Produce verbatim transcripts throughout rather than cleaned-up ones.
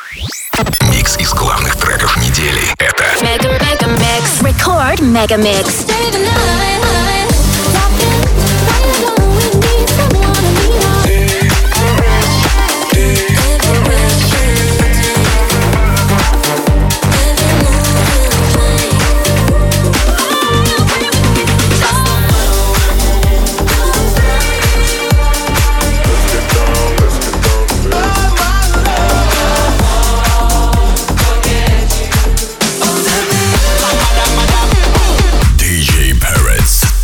Микс из главных треков недели. Это Mega Mega Mix. Record Mega Mix. ди джей Parrots.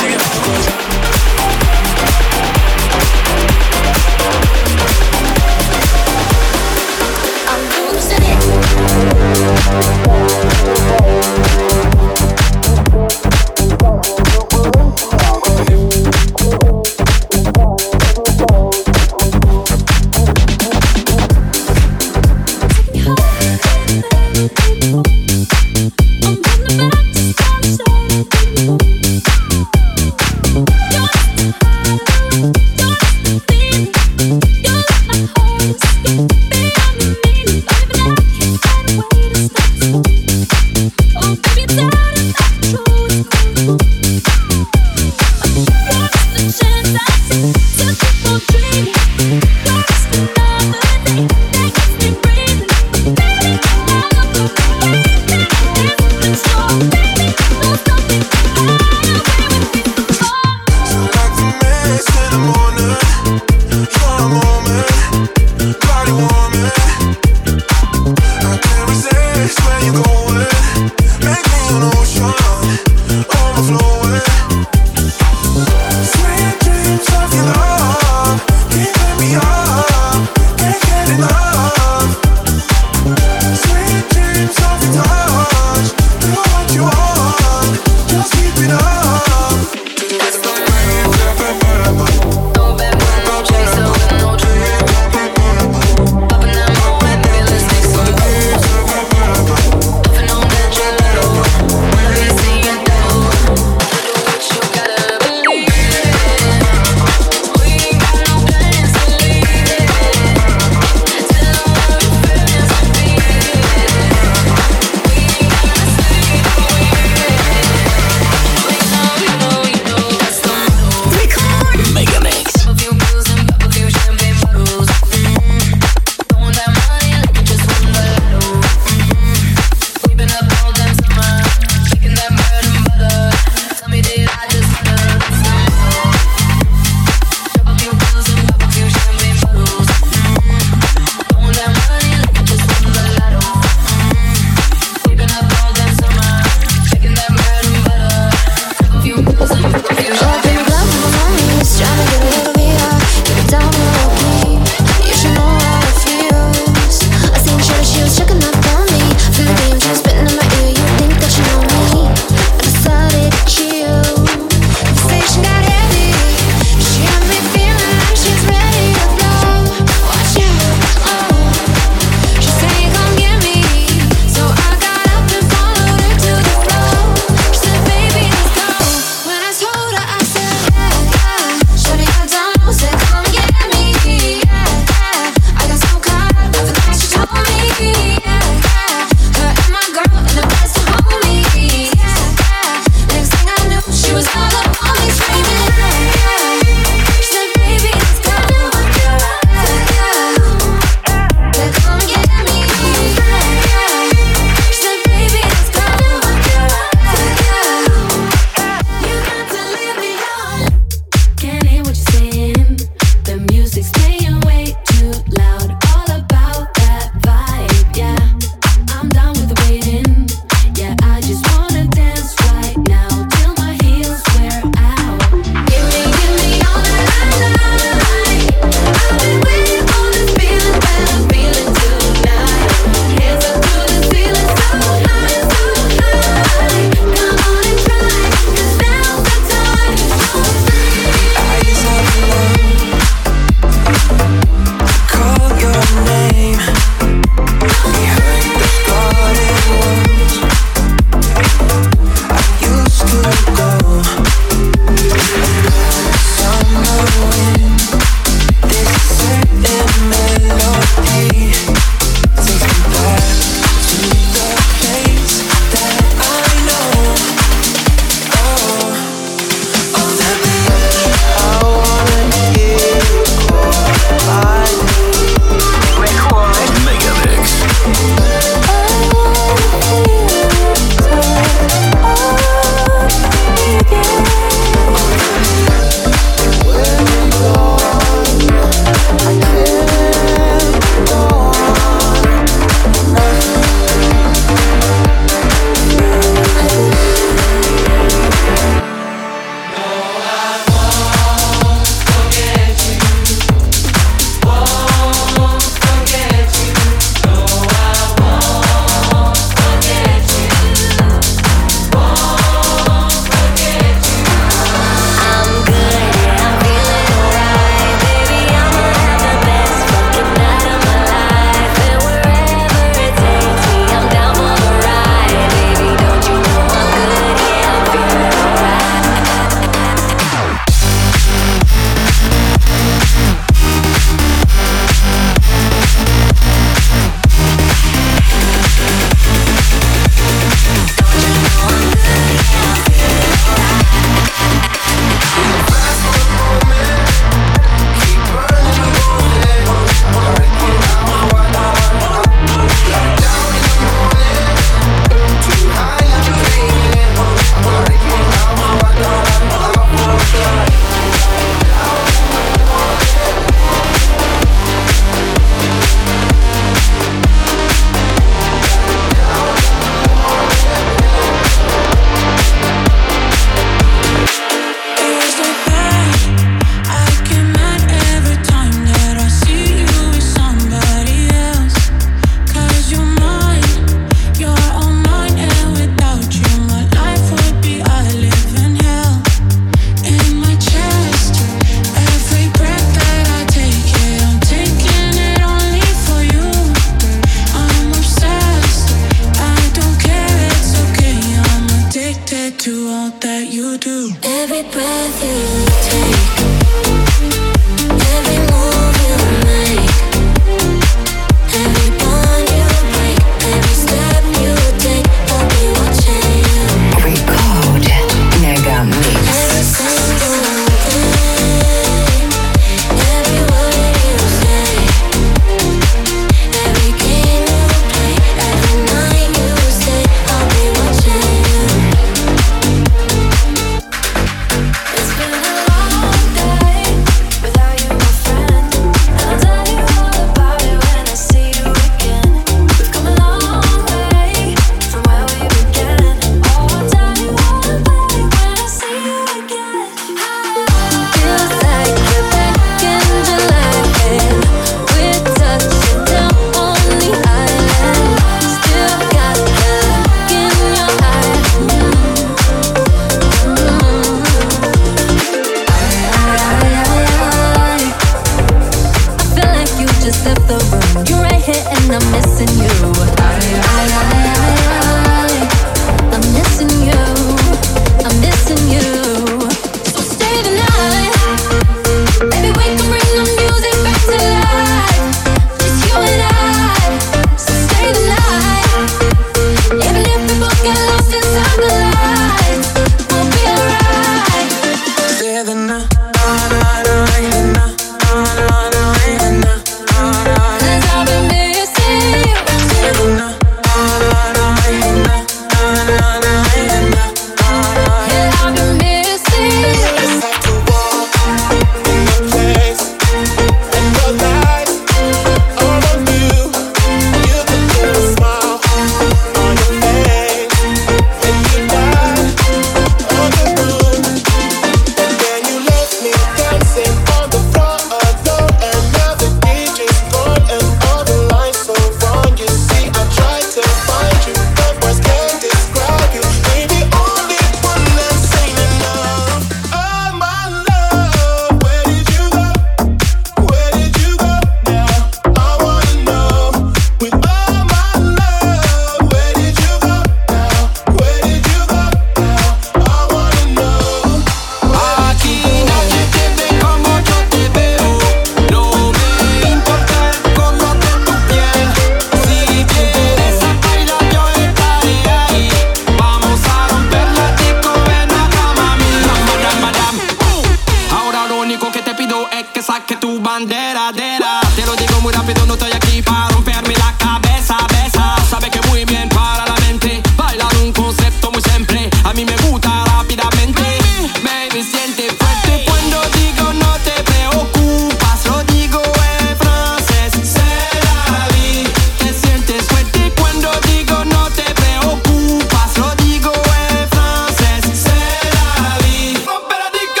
bandera, dera. Te lo digo muy rápido, no estoy aquí para romperme la cabeza, besa. Sabe que muy bien para la mente. Bailar un concepto muy simple. A mí me gusta rápidamente. Baby, siente fuerte cuando digo no te preocupas. Lo digo en francés. C'est la vie. Te sientes fuerte cuando digo no te preocupas. Lo digo en francés. C'est la vie. Rompera digo.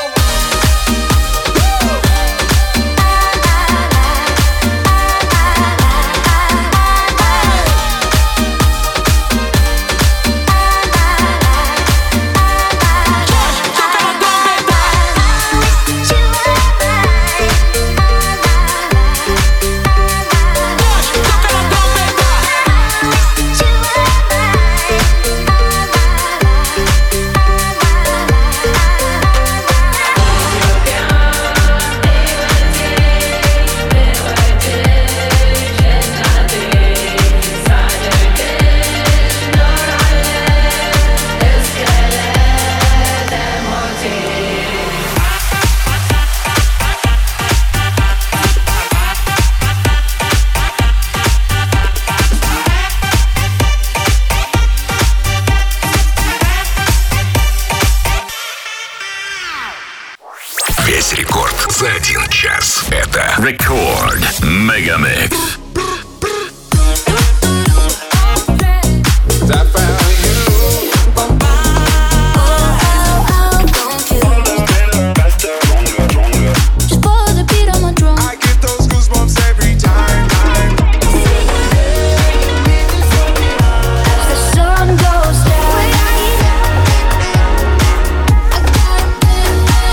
Весь рекорд за один час. Это Record Megamix.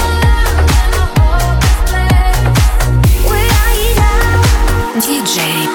диджей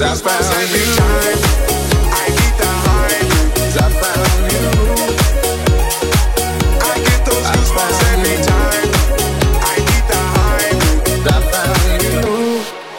I found every time. I need the high, 'cause I found you. I get those goosebumps every time. I need the high, 'cause I found you.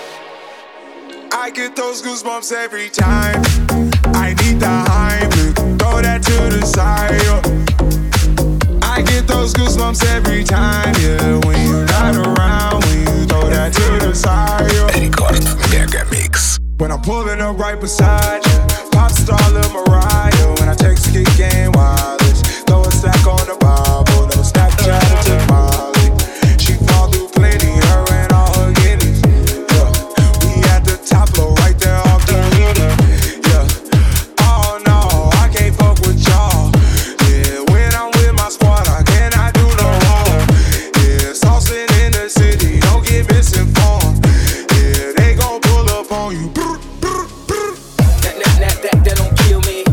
I get those goosebumps every time. I need the high, throw that to the side. I get those goosebumps every time, yeah. When you're not around, when you throw that to the side. Рекорд Мегамикс. When I'm pulling up right beside you, pop star Lil Mariah. When I text kick game wireless, throw a stack on the Bible, never Snapchat it to Molly. She fall through plenty, her and all her guineas. Yeah, we at the top floor, right there off the Henny. Yeah, oh no, I can't fuck with y'all. Yeah, when I'm with my squad, I cannot do no wrong. Yeah, saucing in the city, don't get misinformed. Yeah, they gon' pull up on you. That, that, that, that, that don't kill me.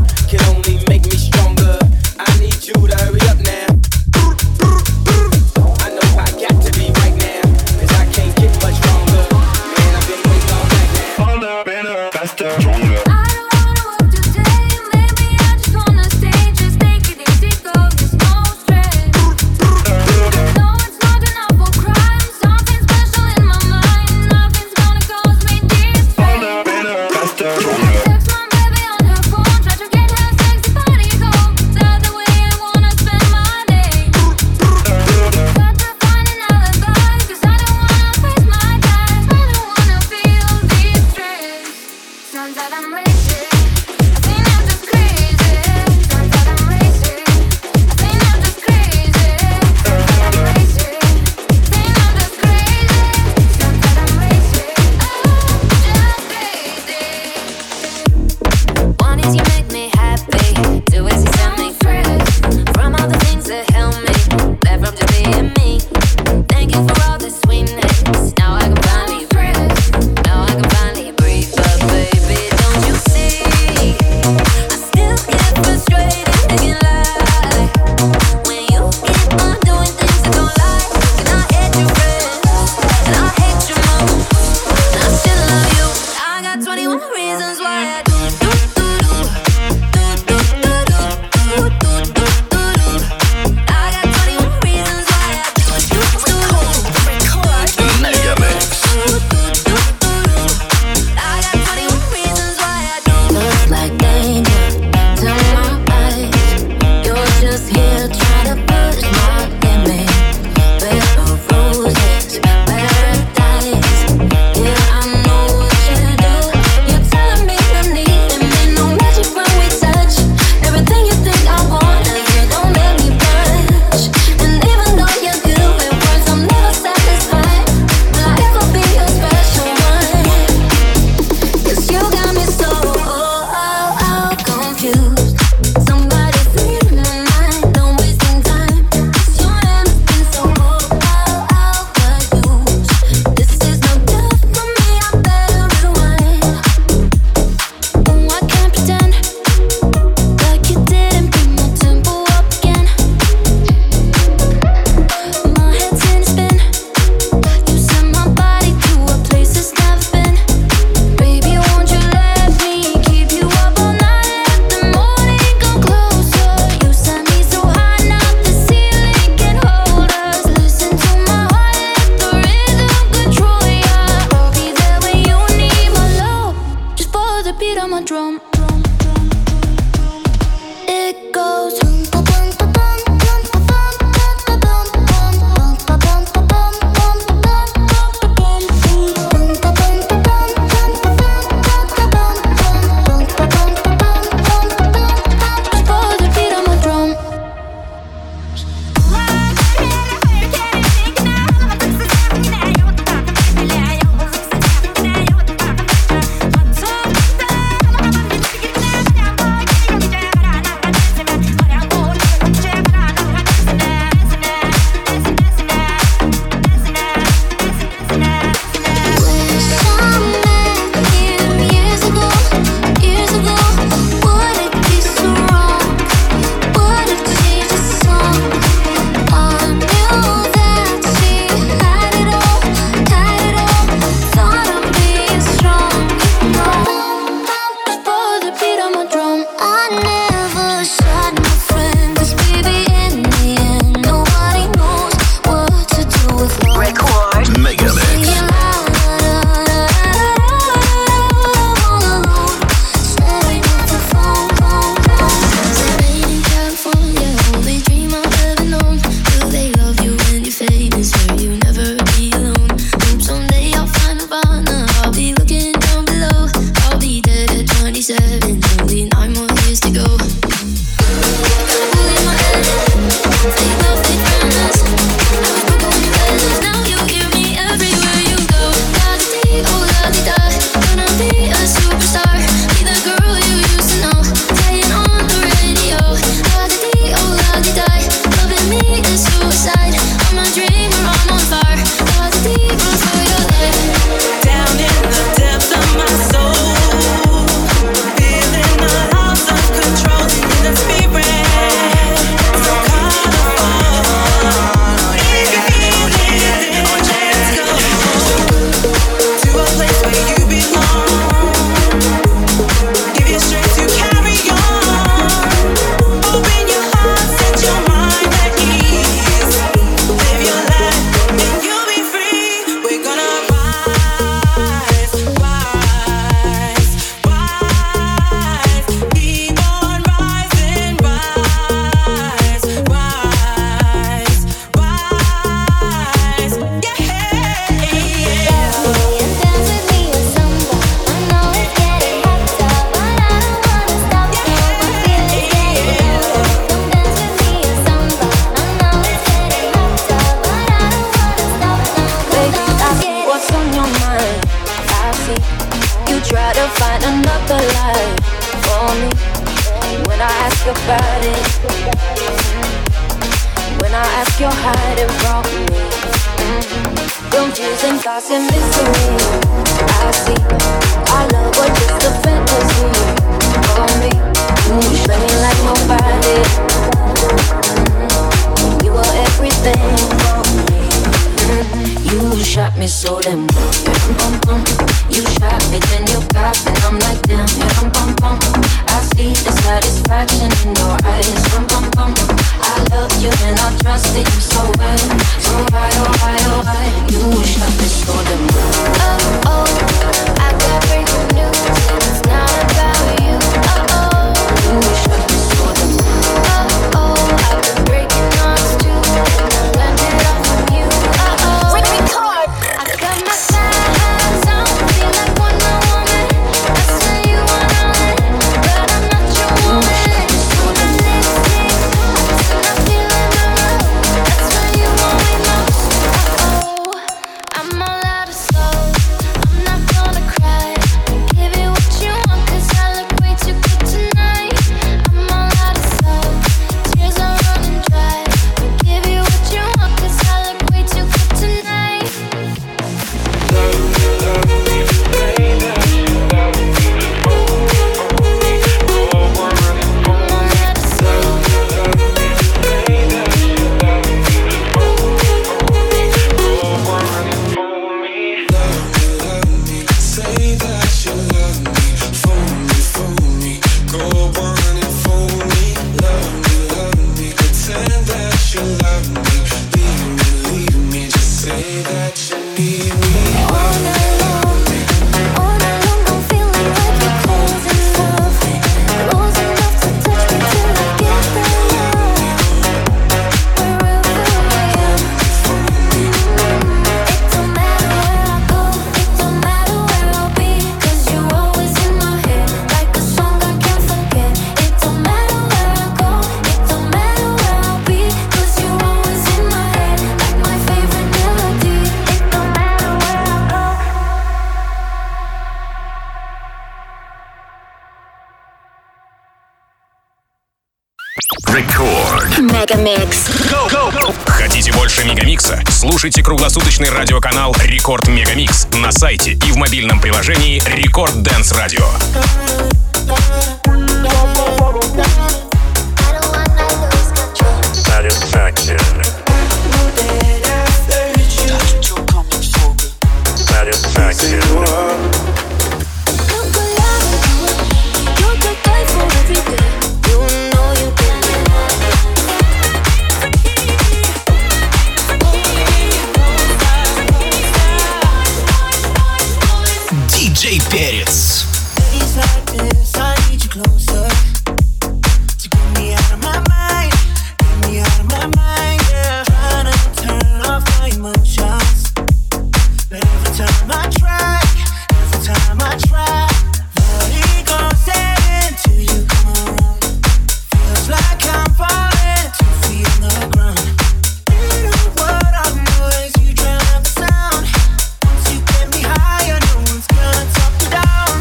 see you try to find another life for me. When I ask about it, when I ask you're hiding from me. Confusing thoughts and mystery. I see our love was just a fantasy for me. You shine like nobody. Mm-hmm. You were everything for me. Mm-hmm. You shot me so damn good. You shot me, then you got me. I'm like damn. I see the satisfaction in your eyes. I loved you and I trusted you so well. So why, oh why, oh why? You shot me so damn good. Oh oh, I got breaking news and it's not about you. Oh oh, you shot me so damn good. Oh oh, I've been breaking hearts too and I learned it all from you. Oh oh, record. I got my sights on, feel like Wonder Woman. I swear you wanna win, but I'm not your woman. So I'm listening, I'm feeling the love. That's why you want me most. Oh, I'm all out of soul. I'm not gonna cry. Give you what you want, 'cause I look way too good tonight. I'm all out of soul. Tears are running dry. Give you what you want, 'cause I look way too good tonight. Мегамикс. Хотите больше Мегамикса? Слушайте круглосуточный радиоканал Рекорд Мегамикс на сайте и в мобильном приложении Рекорд Dance Radio. Satisfaction. Satisfaction. диджей Перец. Down.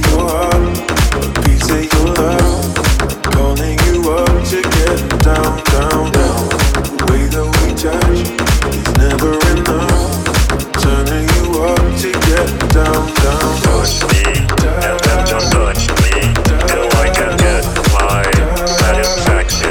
your heart, a piece of your love. Calling you up to get down, down, down. The way that we touch is never enough. Turning you up to get down, down. Touch me, and then just touch me, till I can get my satisfaction.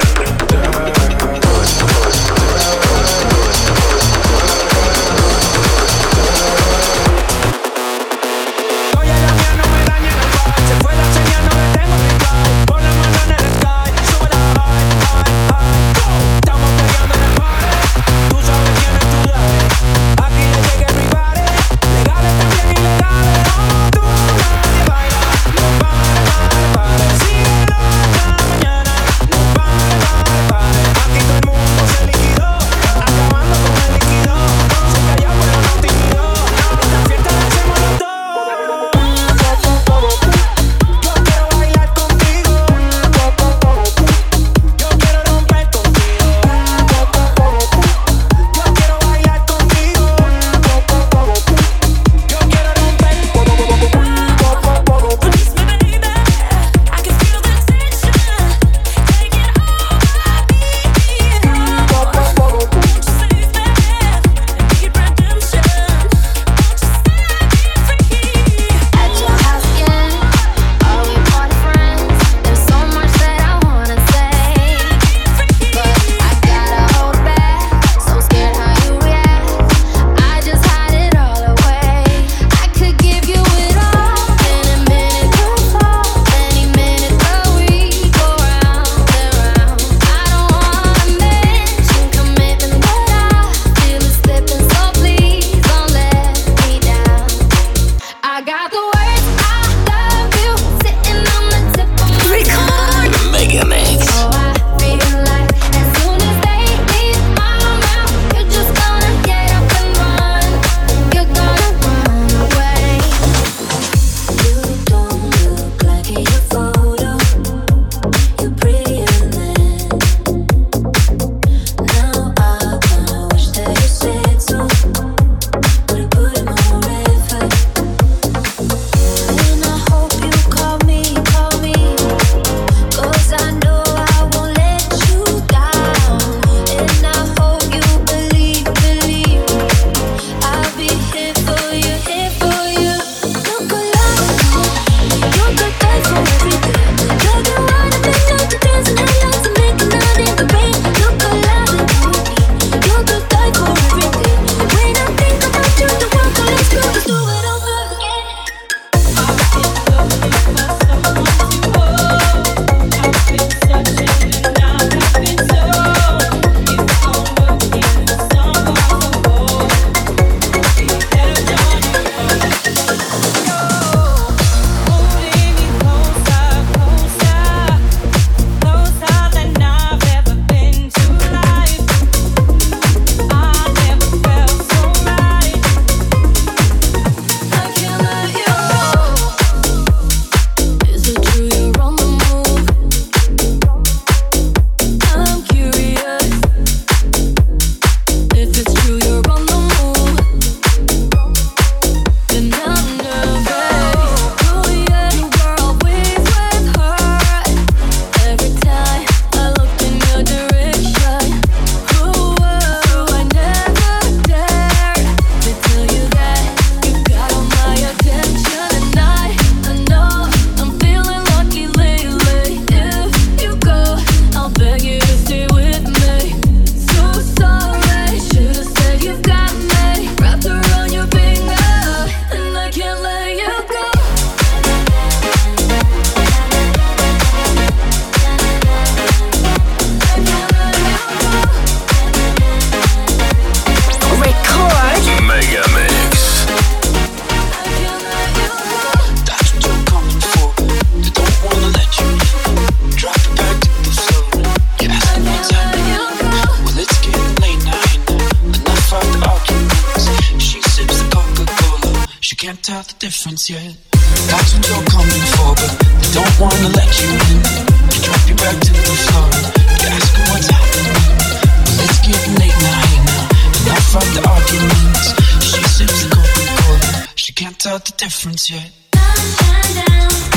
can't tell the difference yet. That's what you're coming for, but they don't wanna let you in. They drop you back to the floor. You're asking what's happening. Well, it's getting late now, hey now. Enough of the arguments. She sips the Coca-Cola. She can't tell the difference yet. Down, down, down.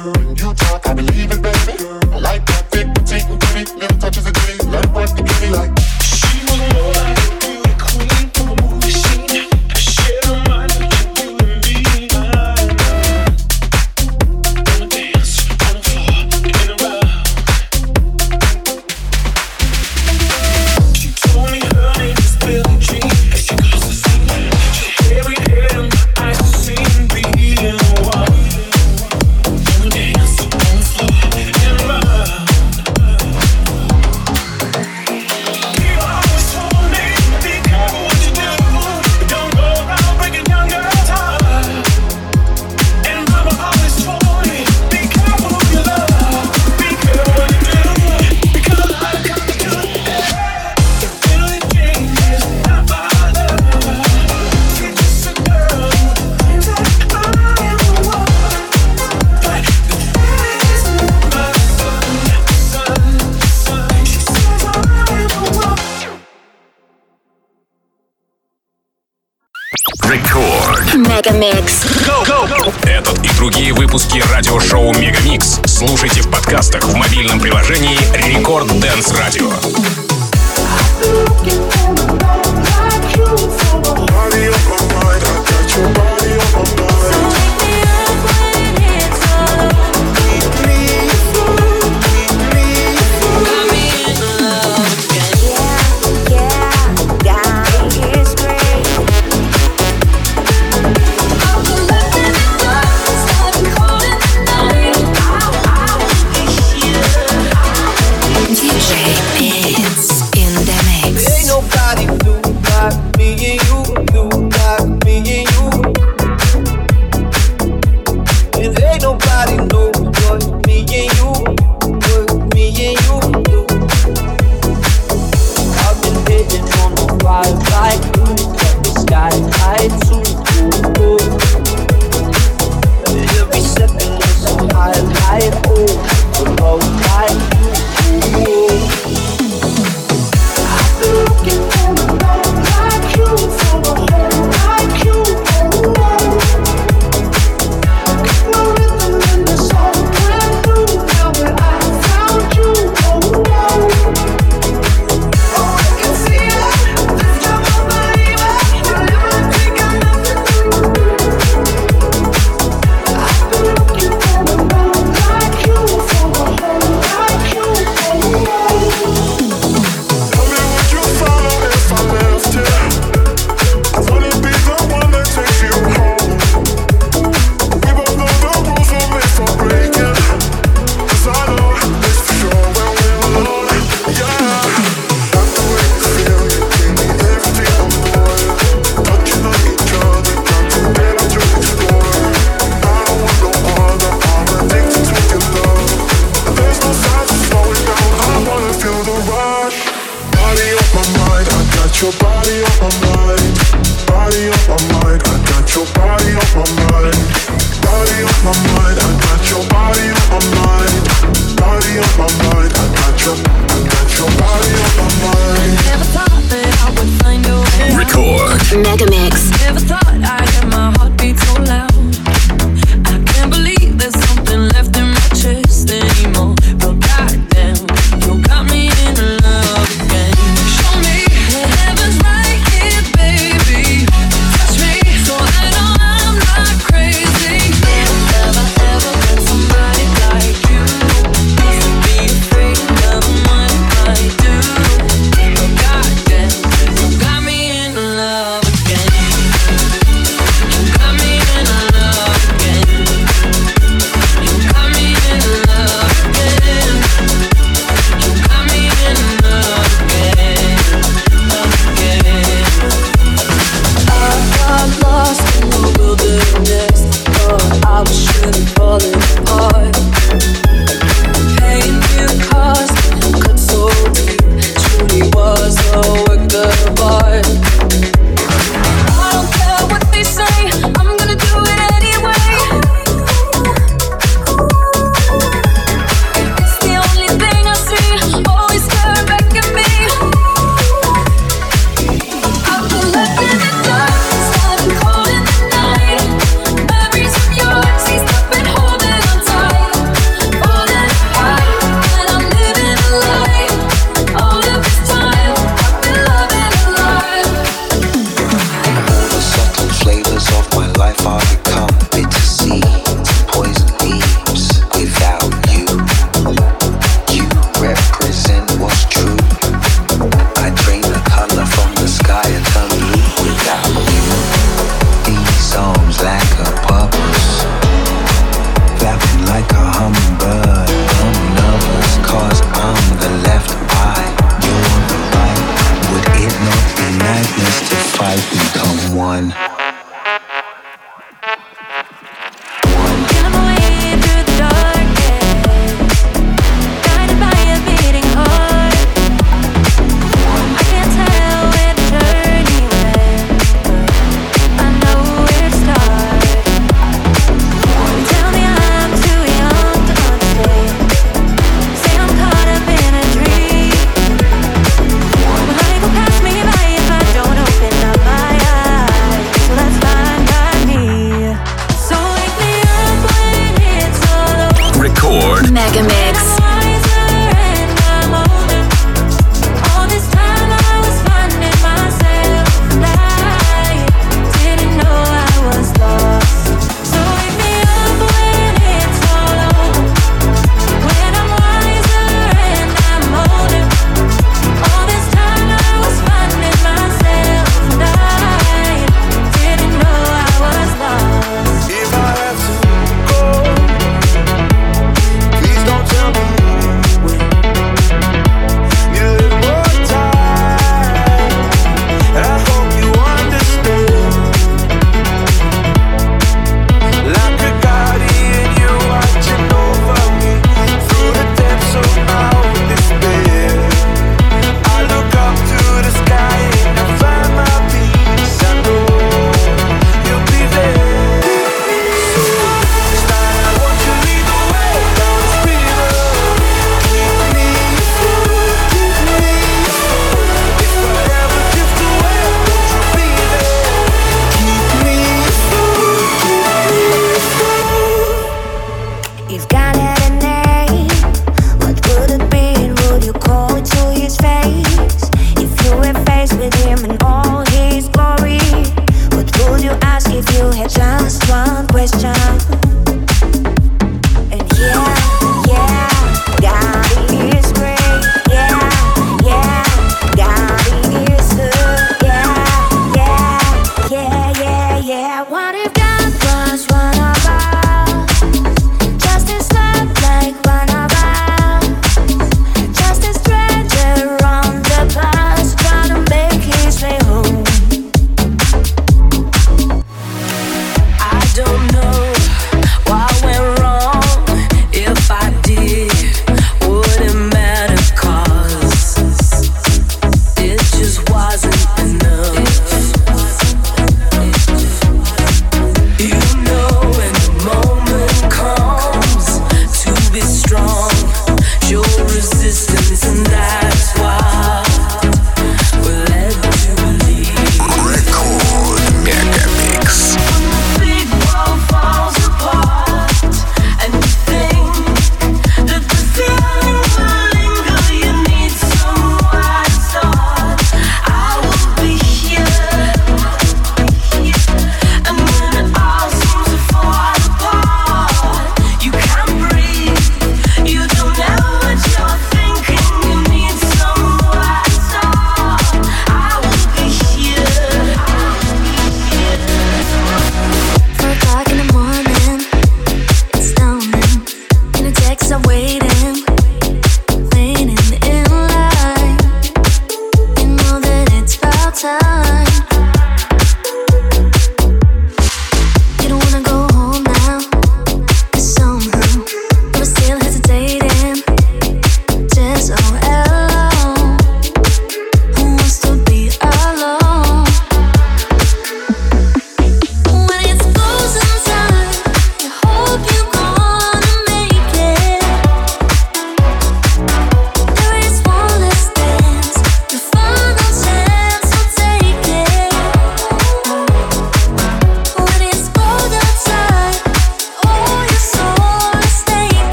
When you talk, I believe it, baby. I like that thick, petite, and pretty. Little touches of ditty. Let it work the kitty like. She was more like a beauty queen from a movie scene. I shared her mind with you and me. Wanna dance on the floor, in and around. She told me her name is Billie Jean. And she goes to sing. She carried head and my eyes to see and be in one. Wanna dance on the floor, in and around. You always told me, be careful what you do. Don't go around breaking young girls' hearts. And mama always told me, be careful who you love. Be careful what you do, because a lot of comes to it. Billie Jean is not my love. She's just a girl who thinks that I am the one. But this is my son, son, son. She says I am the one. Рекорд. Megamix. Этот и другие выпуски радиошоу Мегамикс слушайте в подкастах в мобильном приложении Рекорд Dance Radio. Body on my mind, I got your body on my mind. Keep me full, keep me full. Ain't nobody do like me and you, do like me and you. And ain't nobody know what me and you, what me and you do. I've been hitting on the fire like you, got the sky high too cool. Every second is so high, high, oh, the road like you. Looking for a love like you, for a home like you, oh, oh. Got my rhythm and it's all brand new. Now that I found you, oh, oh. Oh, I can see it, lift up my body, you'll never think I'm nothing new. I've been looking for a love like you, for a home like you, oh, oh. Tell me would you follow if I left you? I wanna be the one that takes you home. We both know the rules we're made for breaking. 'Cause I know it's for sure when we're alone. Yeah. Like the way you feel, you give me everything I'm worth. Touching on each other, got too better to explore. I don't want no other, I'm addicted to your love. And there's no signs of slowing down, I wanna feel the rush. Body on my mind, I got your body on my mind. Body on my mind, I got your body on my mind. Body on my mind, I got your body on my mind. Body on my mind, I got your, I got your body on my mind. Never thought that I would find a way out. Record. Megamix. Never thought I'd hear my heartbeat so loud. I can't believe there's something left in my chest anymore. But goddamn, you got me in love again. Show me that heaven's right here Megamix.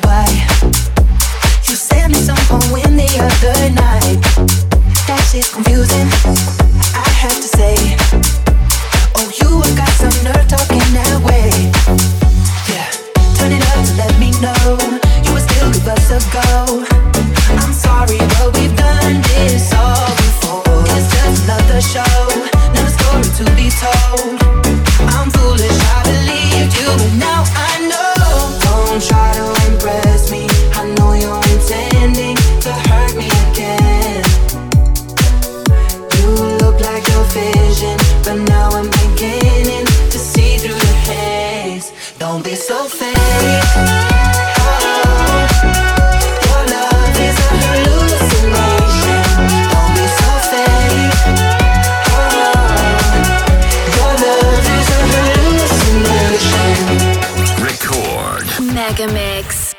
why. You sent me some poem the other night. That shit's confusing, I have to say. Oh, you got some nerve talking that way. Yeah, turn it up to let me know you would still give us a go. I'm sorry, but we've done this all before. It's just another show, another story to be told. I'm foolish, I believed you, but now I know. Don't try to impress me, I know you're intending to hurt me again. You look like your vision, but now I'm beginning to see through the haze. Don't be so fake. Mega Mix.